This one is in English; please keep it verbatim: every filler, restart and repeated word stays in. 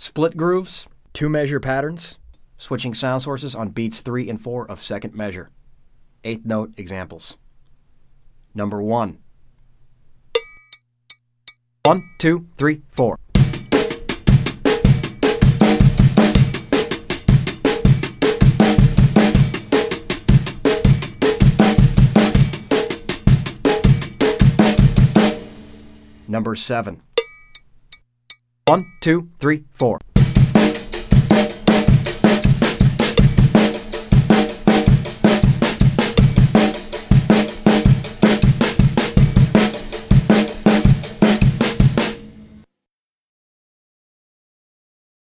split grooves, two-measure patterns, switching sound sources on beats three and four of second measure. Eighth note examples. Number one. One, two, three, four. Number seven. One, two, three, four.